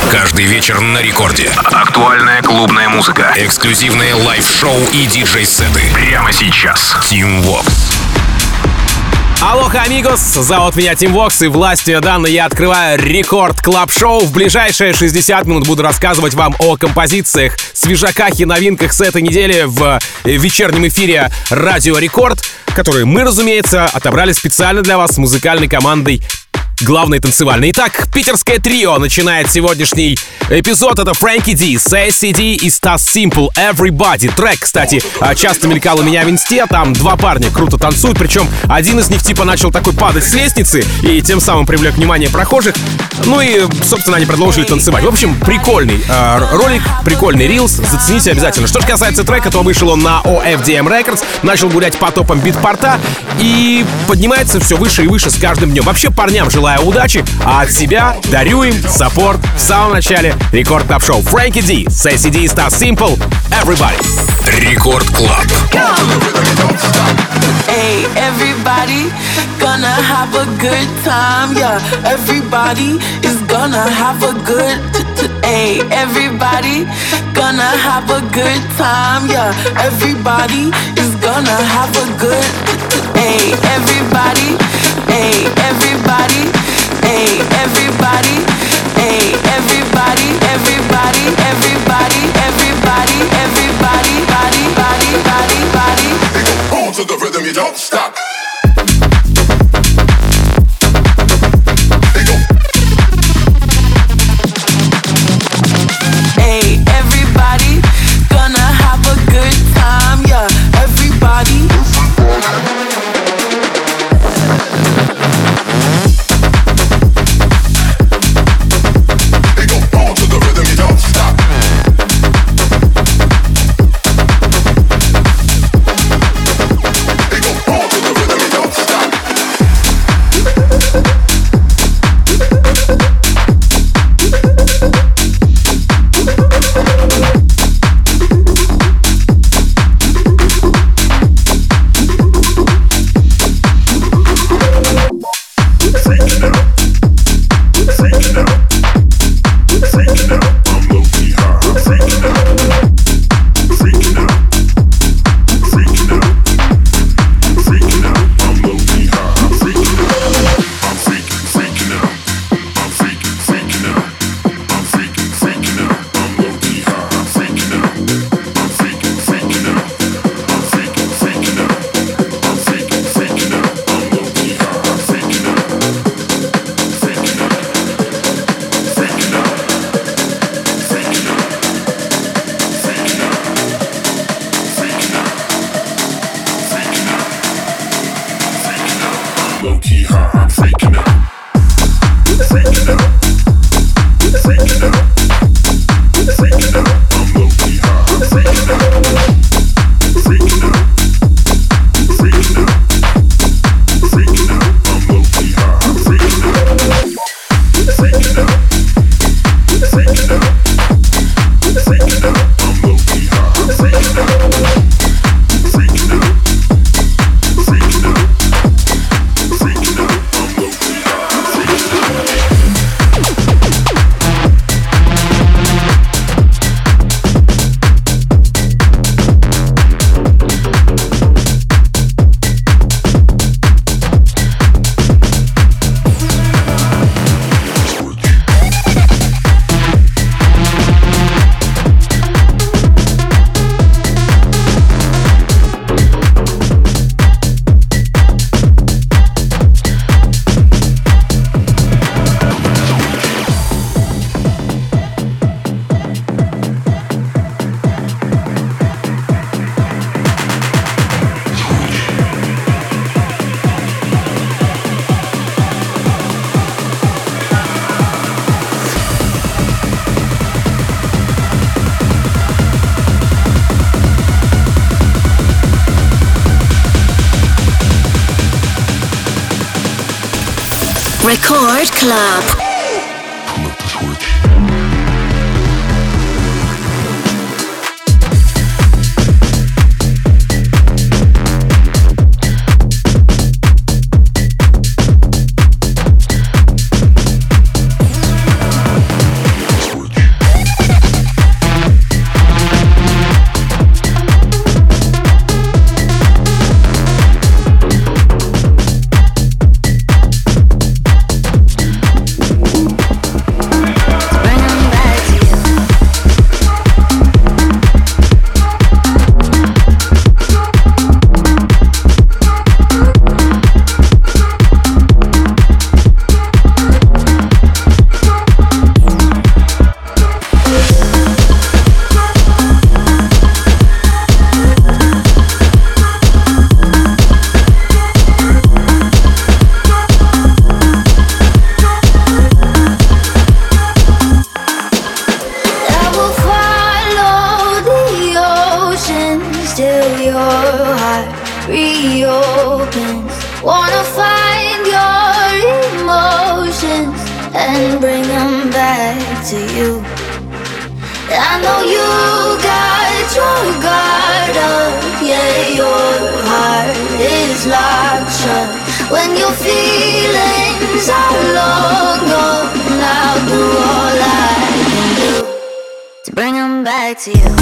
Каждый вечер на рекорде. Актуальная клубная музыка. Эксклюзивные лайв-шоу и диджей-сеты. Прямо сейчас. Team Vox. Алоха, амигос! Зовут меня Team Vox, и властью данной я открываю рекорд клаб-шоу. В ближайшие 60 минут буду рассказывать вам о композициях, свежаках и новинках с этой недели в вечернем эфире Радио Рекорд, которые мы, разумеется, отобрали специально для вас с музыкальной командой главной танцевальной. Итак, питерское трио начинает сегодняшний эпизод. Это Frankie D, Sassy D и Stas Simple, Everybody. Трек, кстати, часто мелькал у меня в инсте. Там два парня круто танцуют, причем один из них типа начал такой падать с лестницы и тем самым привлек внимание прохожих. Ну и, собственно, они продолжили танцевать. В общем, прикольный ролик, прикольный рилс. Зацените обязательно. Что же касается трека, то вышел он на OFDM Records, начал гулять по топам битпорта и поднимается все выше и выше с каждым днем. Вообще, парням желаю удачи, а от себя дарю им саппорт в самом начале Рекорд Клаб Шоу. Frankie D, Sassy D, Stas Simple, Everybody. Рекорд Клаб. Hey, everybody gonna have a good time, yeah. Everybody is gonna have a good hey, everybody gonna have a good time, yeah. Everybody is gonna have a good hey, everybody, hey, everybody, hey, everybody, hey, everybody, everybody, everybody, everybody, everybody, body, body, body, body. Boom to the rhythm, you don't stop. Hey, everybody gonna have a good time, yeah. Everybody. Record Club. back to you. I know you got your guard up, yeah, your heart is locked shut. When your feelings are long gone, I'll do all I can do to bring them back to you.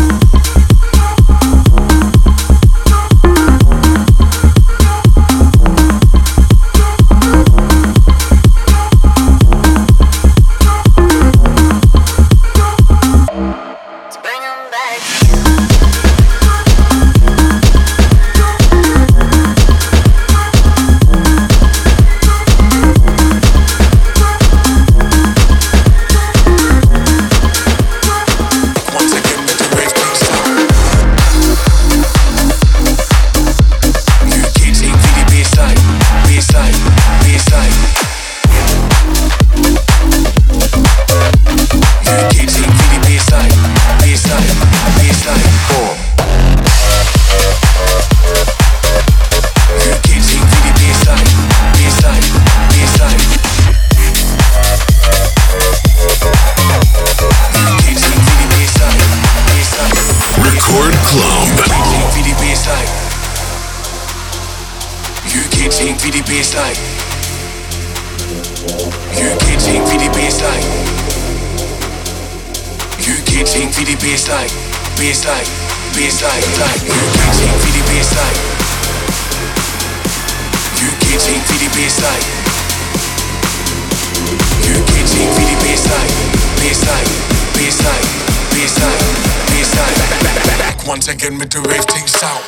Once again with the rave thing sound.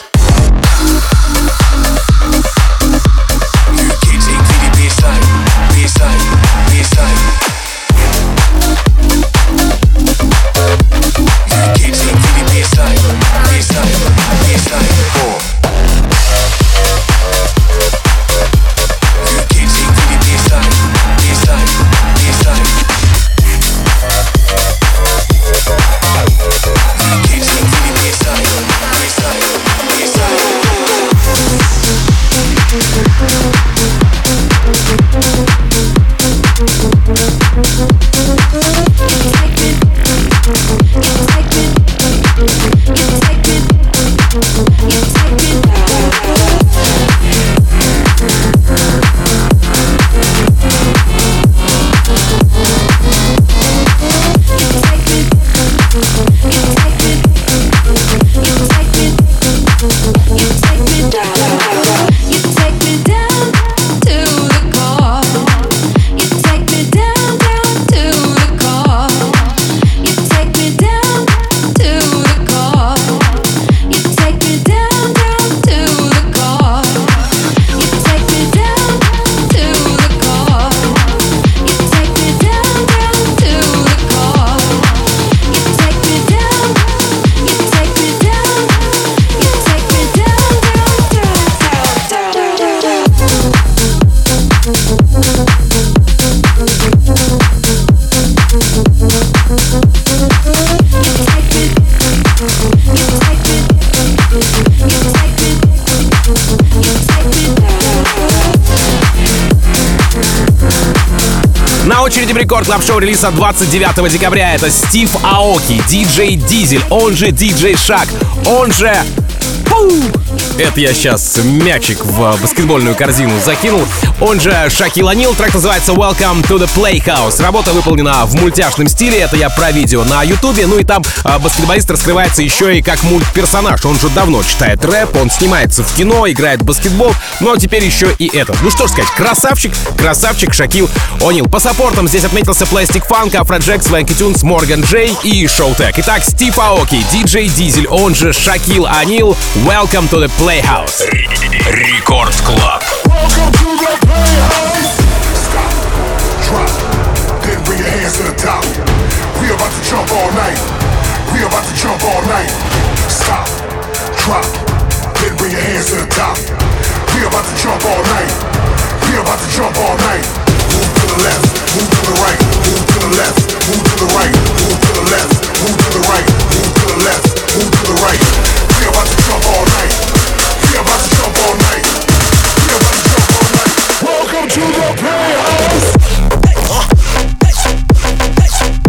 You can't take me the baseline, baseline, baseline. You can't take me the baseline, baseline, baseline. You can't take me the baseline, baseline, baseline. You can't take me the baseline, baseline, baseline. На очереди в Рекорд Клаб Шоу релиза 29 декабря. Это Стив Аоки, диджей Дизель, он же диджей Шак, он же... Это я сейчас мячик в баскетбольную корзину закинул. Он же Шакил О'Нил. Трек называется Welcome to the Playhouse. Работа выполнена в мультяшном стиле. Это я про видео на ютубе. Ну и там баскетболист раскрывается еще и как мультперсонаж. Он же давно читает рэп, он снимается в кино, играет в баскетбол. Но теперь еще и это. Ну что ж сказать, красавчик Шакил О'Нил. По саппортам здесь отметился Plastic Funk, Afrojack, Swanky Tunes, Morgan Джей и Showtek. Итак, Стив Аоки, диджей Дизель, он же Шакил О'Нил. Welcome to the Playhouse. Рекорд Клаб. Welcome to the playhouse. Stop, drop, then bring your hands to the top. We about to jump all night. We about to jump all night. Stop, drop, then bring your hands to the top. We about to jump all night. We about to jump all night. Move to the left, move to the right, move to the left, move to the right, move to the left, move to the right, move to the left, move to the right. We about to jump all night. We about to jump all night. We about to jump all night. Welcome to the playhouse.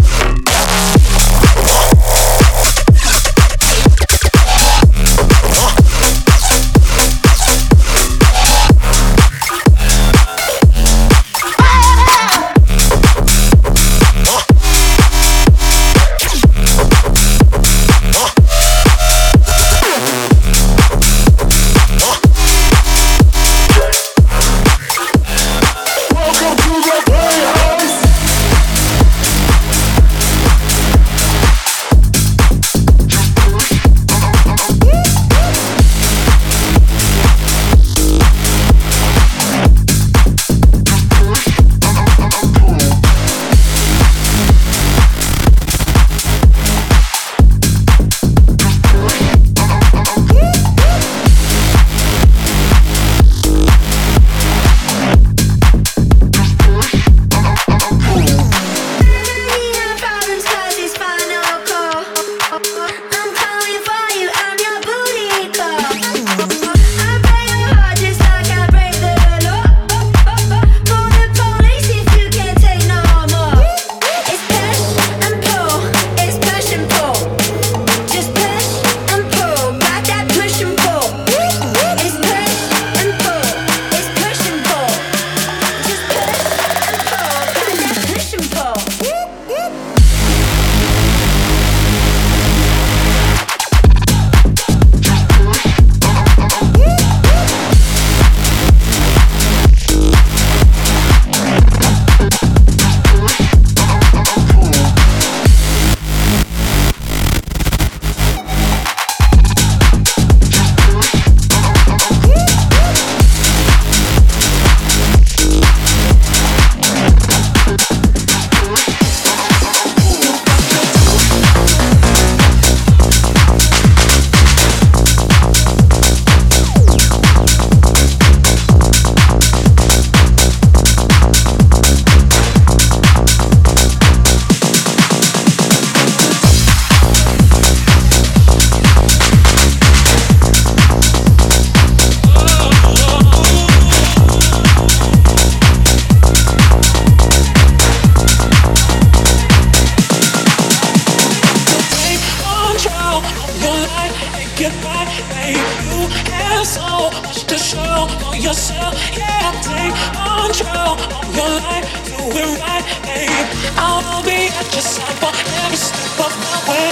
control of yourself. Yeah, take control of your life. Do it right, babe. I'll be at your side for every step of the way.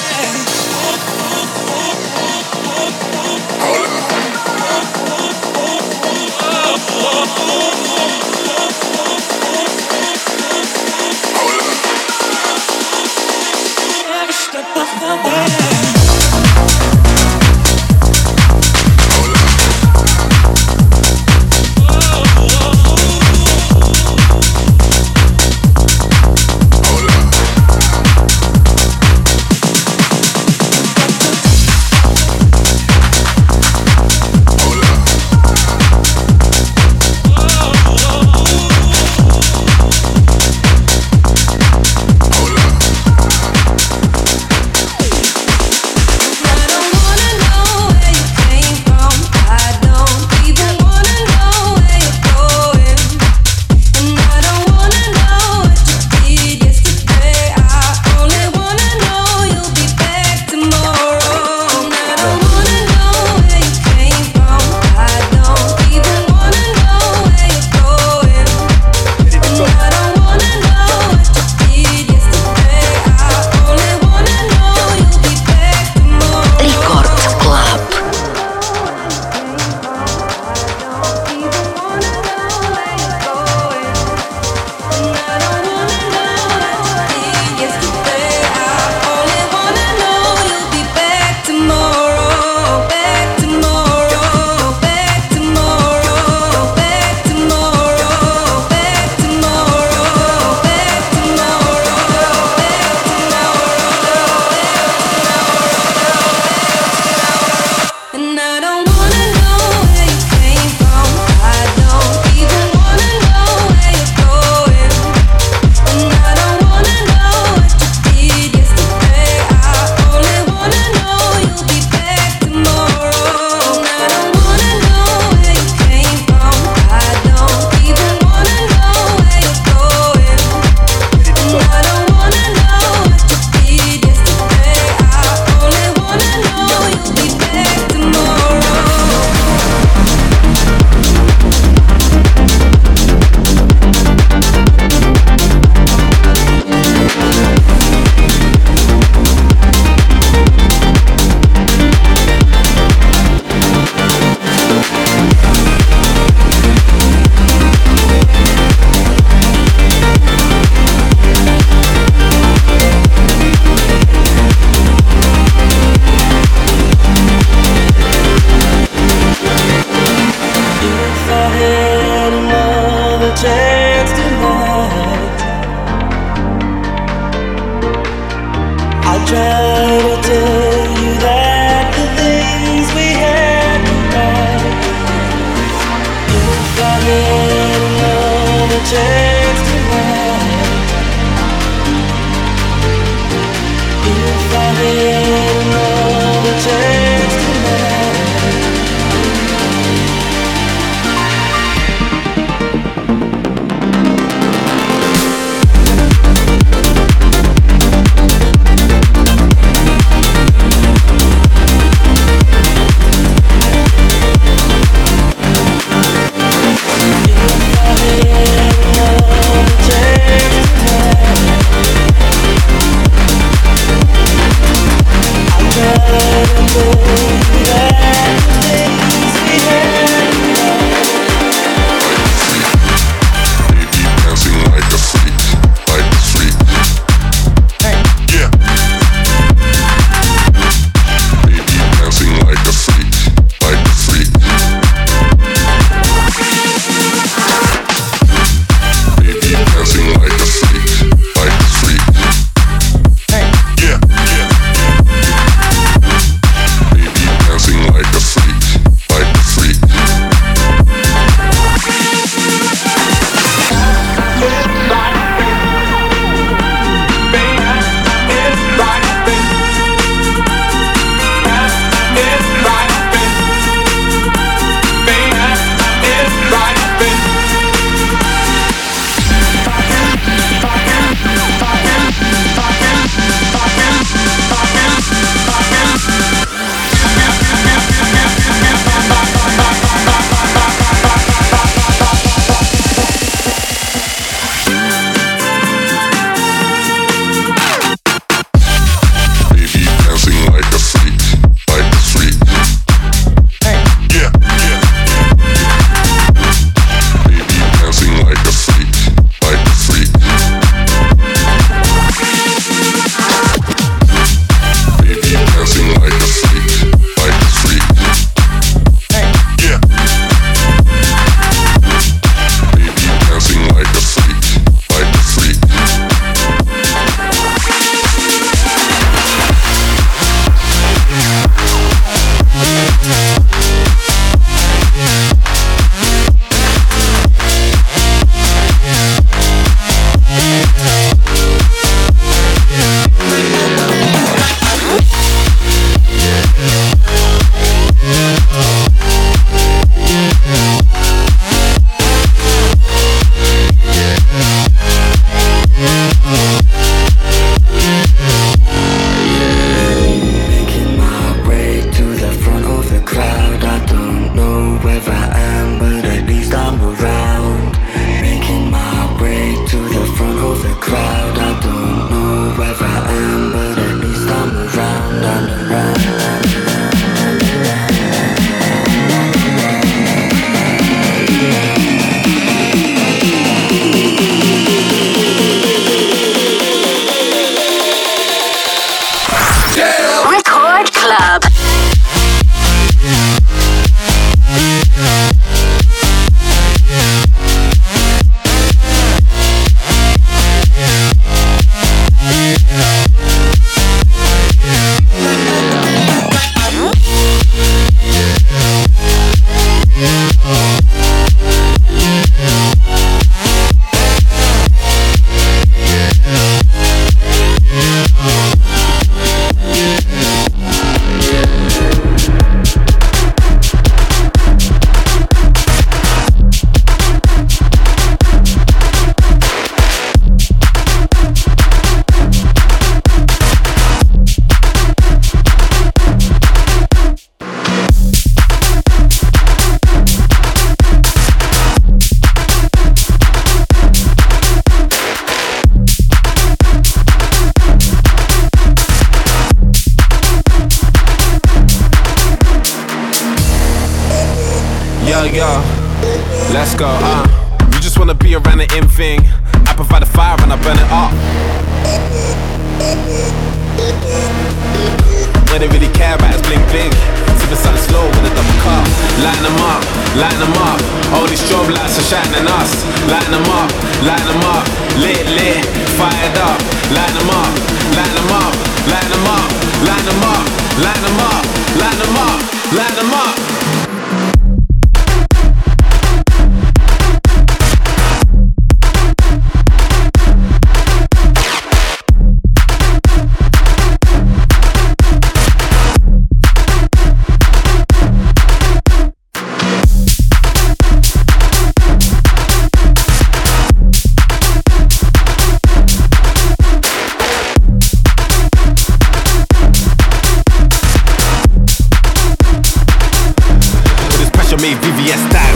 Every step of the way. Let's go, you just wanna be around the in thing. I provide the fire and I burn it up. What they really care about is bling bling. Sipping something slow with a double cup. Lighten them up, lighten them up. All these strobe lights are shining us. Lighten them up, lit, lit, fired up. Lighten them up, lighten them up, lighten them up, lighten them up, lighten them up, lighten them up, lighten them up. VVS style.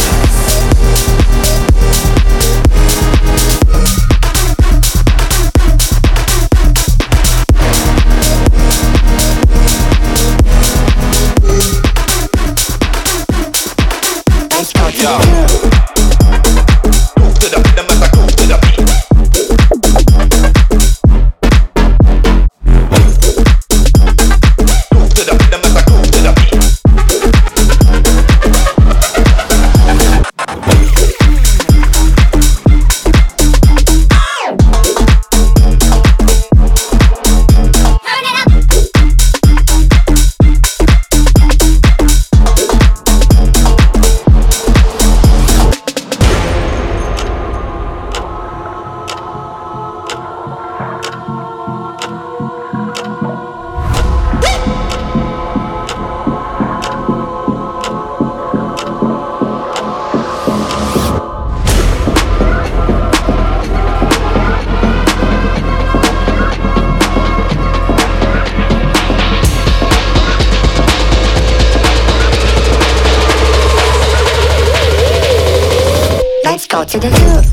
To the hood.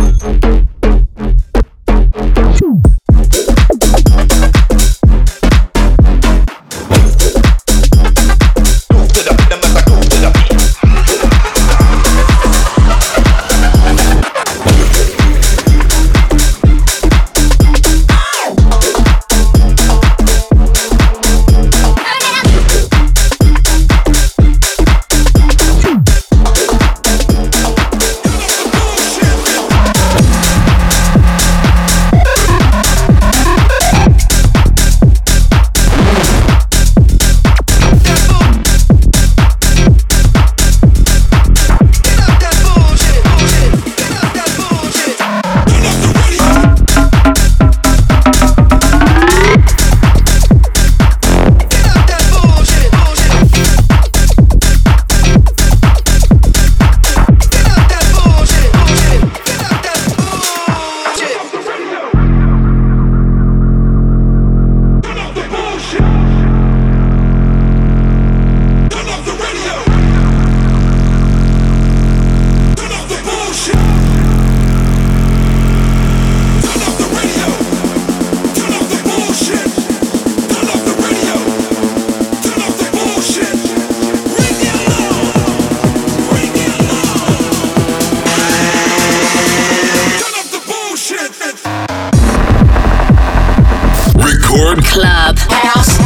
Club House.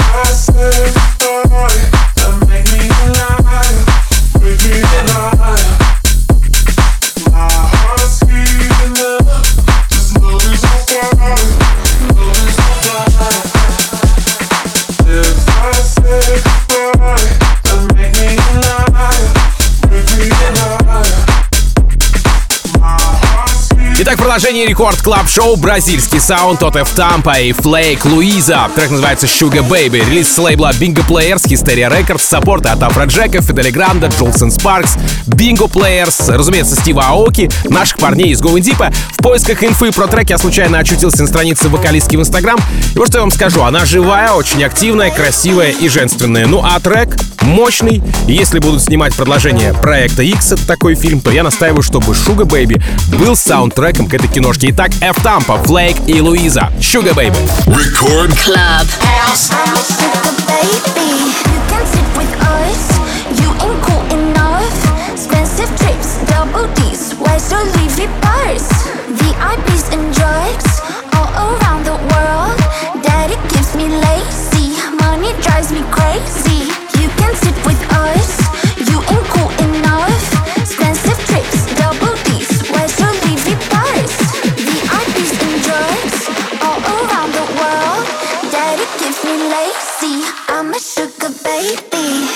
Продолжение Рекорд Клаб Шоу, бразильский саунд от F Tampa и Flake Louisa. Трек называется Sugar Baby. Релиз с лейбла Bingo Players, Hysteria Records, саппорты от Афроджека, Фидели Гранда, Джолсон Спаркс, Bingo Players, разумеется, Стива Аоки, наших парней из Going Deep. В поисках инфы про трек я случайно очутился на странице вокалистки в Инстаграм. И вот что я вам скажу, она живая, очень активная, красивая и женственная. Ну а трек мощный. И если будут снимать продолжение Проекта X, это такой фильм, то я настаиваю, чтобы Sugar Baby был саундтреком к этой киношке. Итак, F Tampa, Flake и Louisa. Sugar Baby. Record Club House. I'm a sugar baby. You can sit with us. You ain't cool enough. Expensive trips, double D's. Where's your leafy purse? VIPs and drugs all around the world. Daddy gives me lazy. Money drives me crazy. You can sit with us. You ain't cool enough. Expensive trips, double D's. Where's your leafy purse? VIPs and drugs all around the world. Daddy gives me lazy. I'm a sugar baby.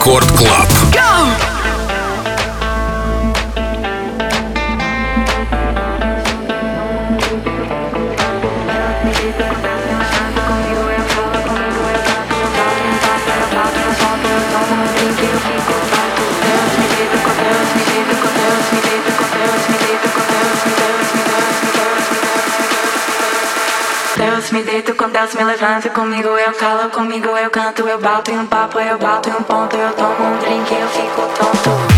Рекорд Клаб. Deus me deito com Deus me levanta, comigo eu calo, comigo eu canto, eu bato em um papo, eu bato em um ponto, eu tomo um drink, eu fico tonto.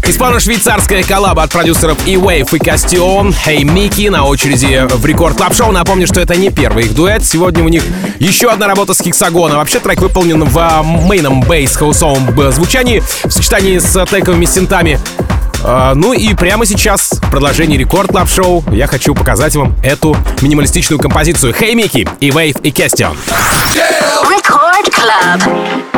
Испано-швейцарская коллаба от продюсеров E-Wave и Castillon, Hey Mickey, на очереди в Рекорд Клаб Шоу. Напомню, что это не первый их дуэт. Сегодня у них еще одна работа с Hexagon. Вообще трек выполнен в мейном бейс-хаусовом звучании в сочетании с тековыми синтами. Ну и прямо сейчас в продолжении Рекорд Клаб Шоу я хочу показать вам эту минималистичную композицию Hey Mickey, E-Wave и Castillon. Record Club.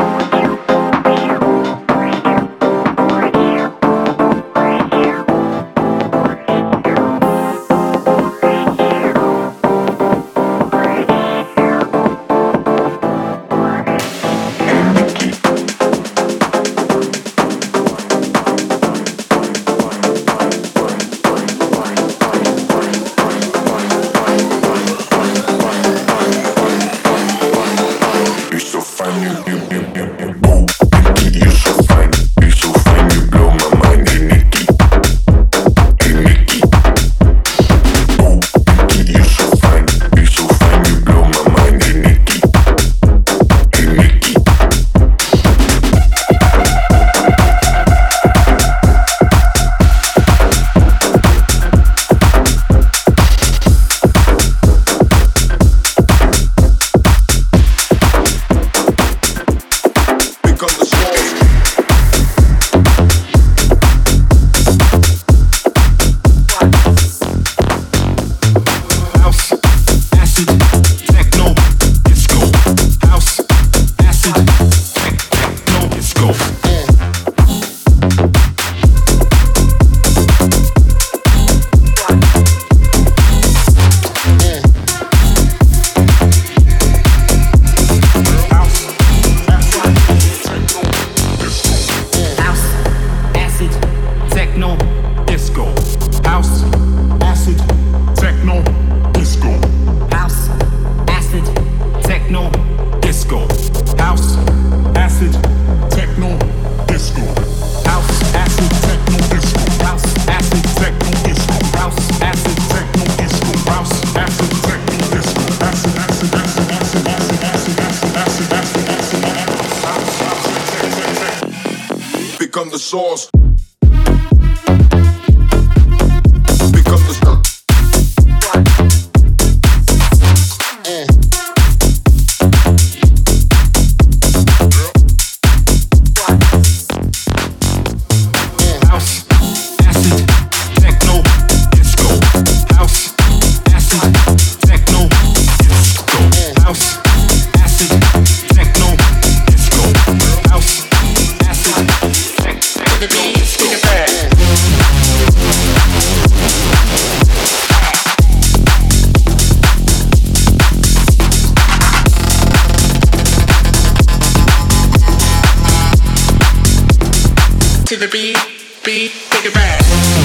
Become the source. To the beat, take it back.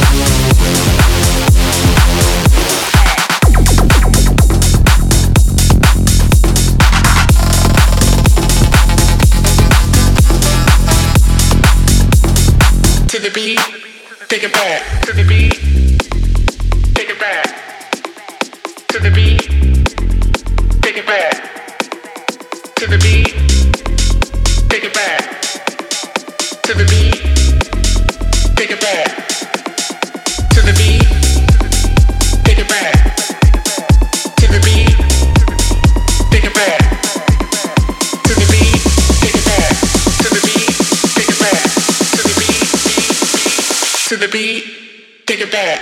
To the beat, take it back. To the beat, take it back. To the beat, take it back. To the beat, take it back. To the beat. Take it back to the beat. Take it back to the beat. Take it back to the beat. Take it back to the beat. Take it back to the beat. To the beat. Take it back.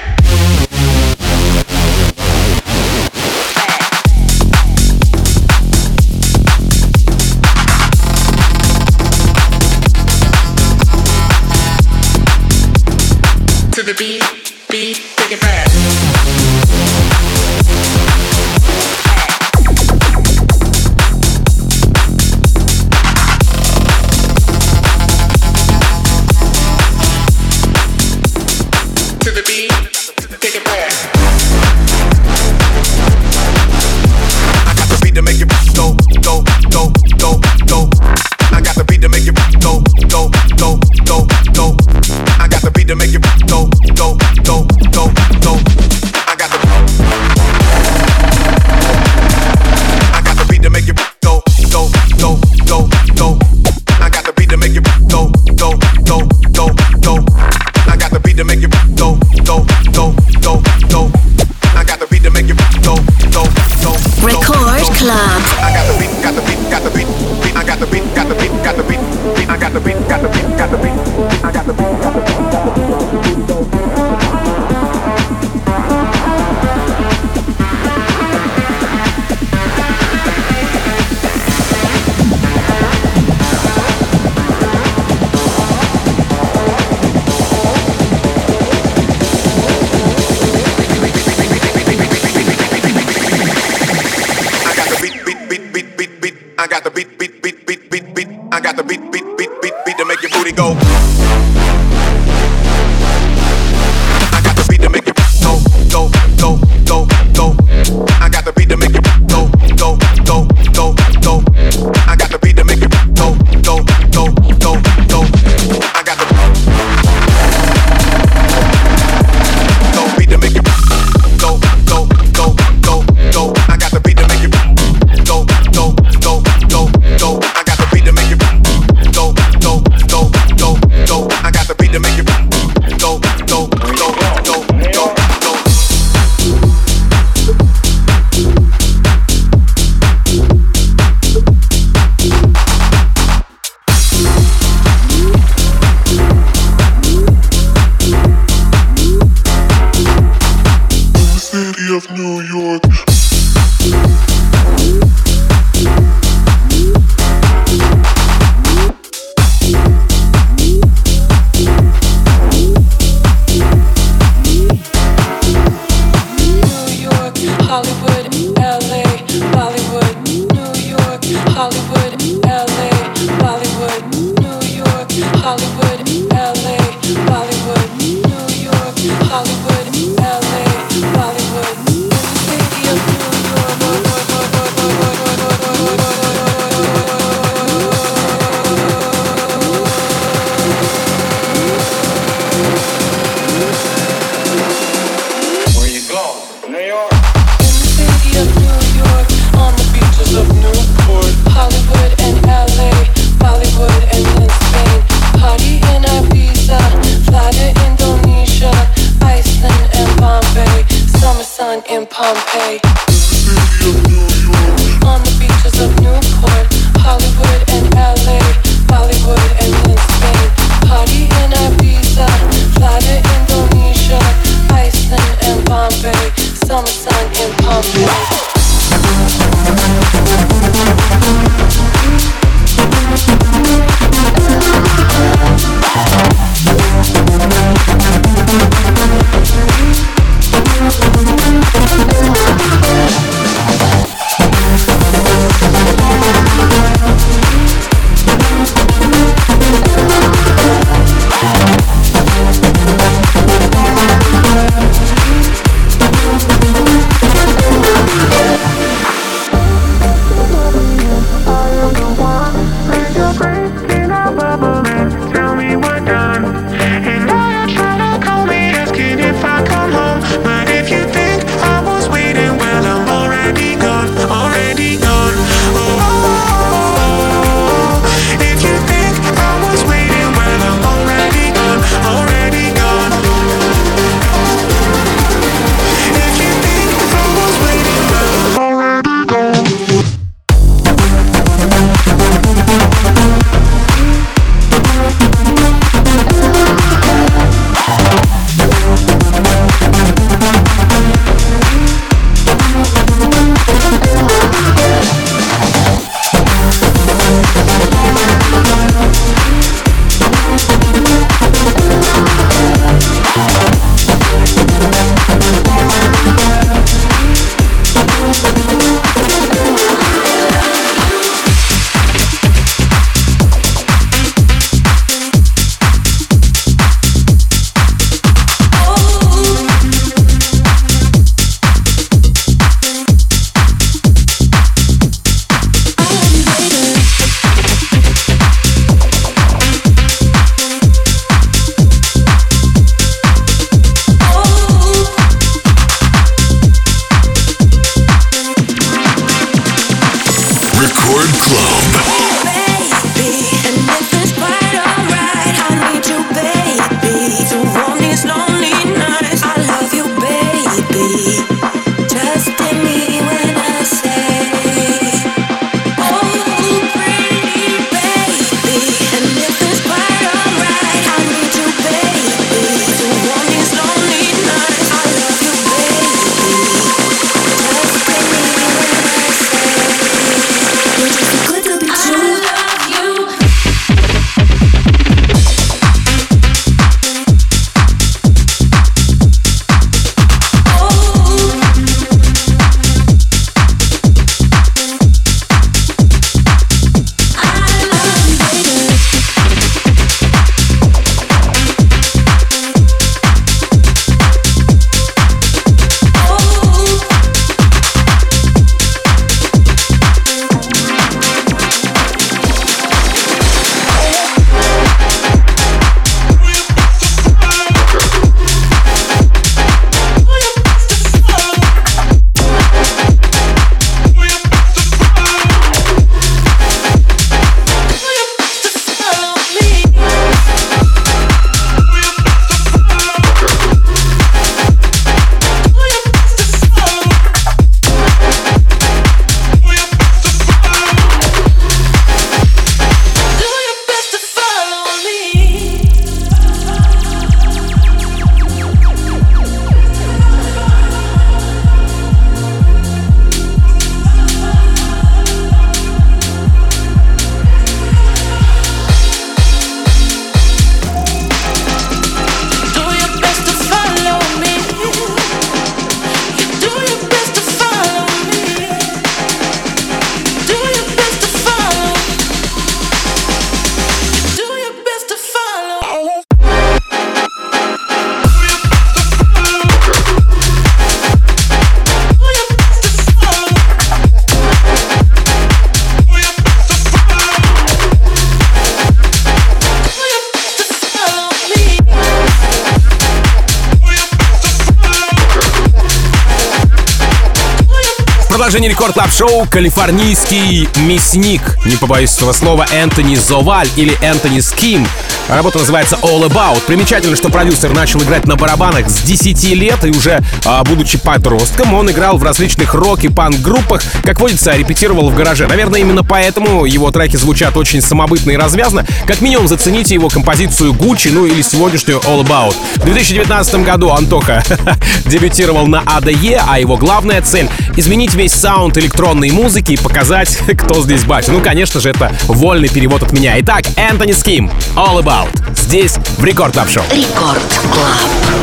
To the beat, take it back. To the beat, take it back. I got the beat to make it go, go, go, go, go. I got the beat to make it go, go, go, go, go. I got the beat to make it go, go, go, go, go. I got the beat, got the beat, got the beat. I got the beat, got the beat, got the beat. I got the beat, beat, beat, beat, beat, beat. I got the beat, beat, beat, beat, beat to make your booty go. I got the beat to make you go, go, go, go, go. I got the beat to make you go, go, go, go, go. I got the beat to make you go, go, go, go, go. I got the beat to make you go, go, go, go, go. I got the beat to make you go, go, go, go, go. I got the beat to make you go, go, go, go, go. I got the beat to make you go, go, go, go, go, go. City of New York. Hollywood, LA, Bollywood, New York, Hollywood, LA, Bollywood, New York, Hollywood, LA, Bollywood, New York, Hollywood, LA, Bollywood, city of New Where you go? New York. city of New York, on the beaches of Newport, Hollywood and LA, Bollywood and in Spain, party in Ibiza, fly продолжение Рекорд Клаб Шоу калифорнийский мясник, не побоюсь этого слова, Энтони Зоваль или Энтони Ским. Работа называется All About. Примечательно, что продюсер начал играть на барабанах с 10 лет, и уже будучи подростком, он играл в различных рок- и панк-группах, как водится, репетировал в гараже. Наверное, именно поэтому его треки звучат очень самобытно и развязно. Как минимум, зацените его композицию Gucci, ну или сегодняшнюю All About. В 2019 году Антоха дебютировал на ADE, а его главная цель — изменить весь саунд электронной музыки и показать, кто здесь батя. Ну, конечно же, это вольный перевод от меня. Итак, Энтони Ским, All About. Здесь в Рекорд Клаб Шоу. Рекорд Клаб.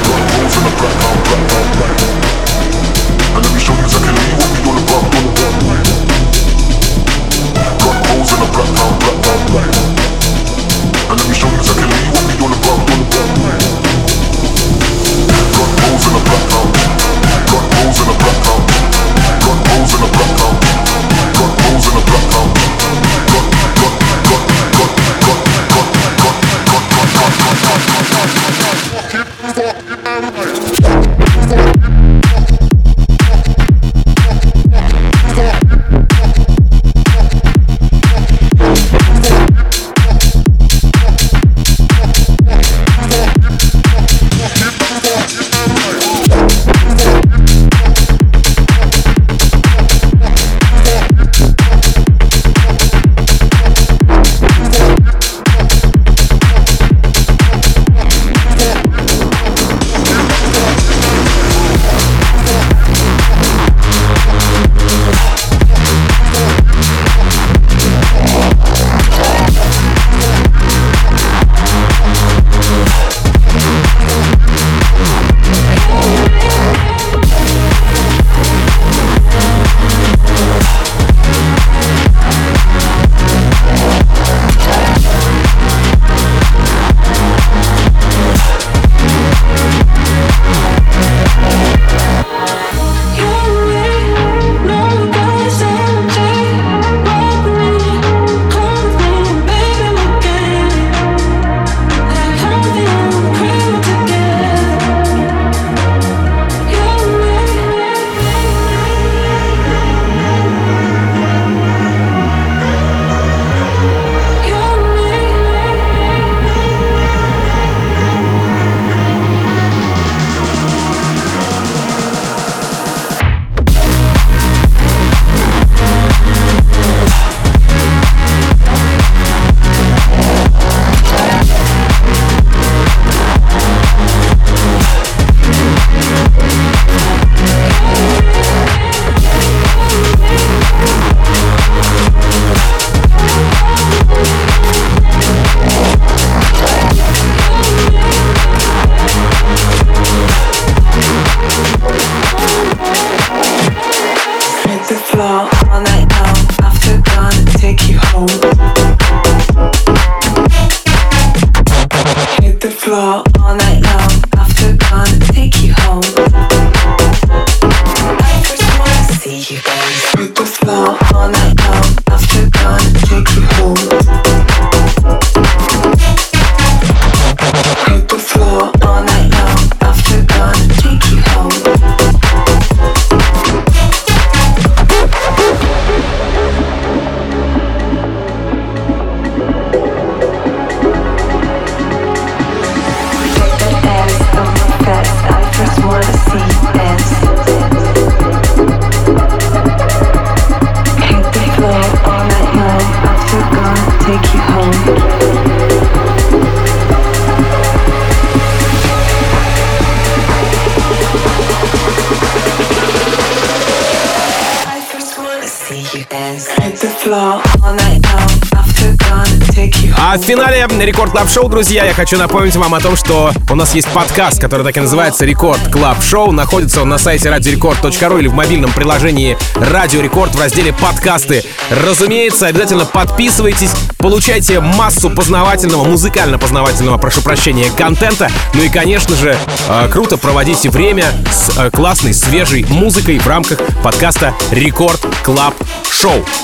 А в финале Рекорд Клаб Шоу, друзья, я хочу напомнить вам о том, что у нас есть подкаст, который так и называется Рекорд Клаб Шоу. Находится он на сайте radiorecord.ru или в мобильном приложении Радио Рекорд в разделе «Подкасты». Разумеется, обязательно подписывайтесь, получайте массу познавательного, музыкально-познавательного, прошу прощения, контента. Ну и, конечно же, круто проводите время с классной, свежей музыкой в рамках подкаста Рекорд Клаб Шоу.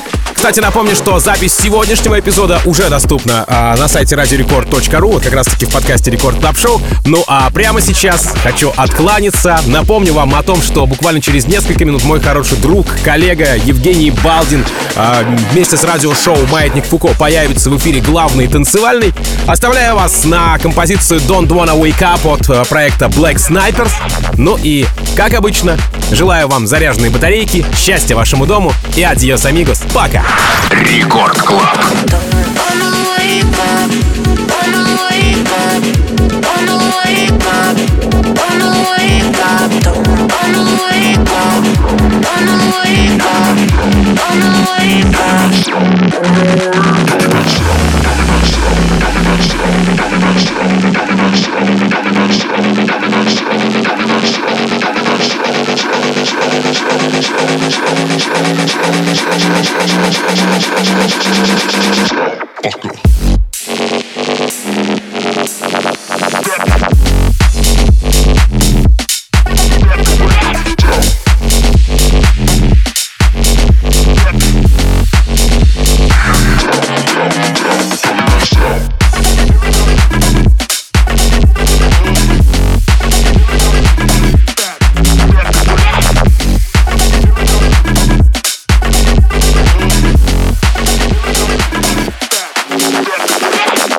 Кстати, напомню, что запись сегодняшнего эпизода уже доступна на сайте radiorecord.ru, вот как раз таки в подкасте Рекорд Клаб Шоу. Ну а прямо сейчас хочу откланяться. Напомню вам о том, что буквально через несколько минут мой хороший друг, коллега Евгений Балдин вместе с радиошоу «Маятник Фуко» появится в эфире главный танцевальный. Оставляю вас на композицию Don't Wanna Wake Up от проекта Black Snipers. Ну и, как обычно, желаю вам заряженной батарейки, счастья вашему дому и адьос, амигос. Пока! Рекорд Клаб. Don't wanna wake up.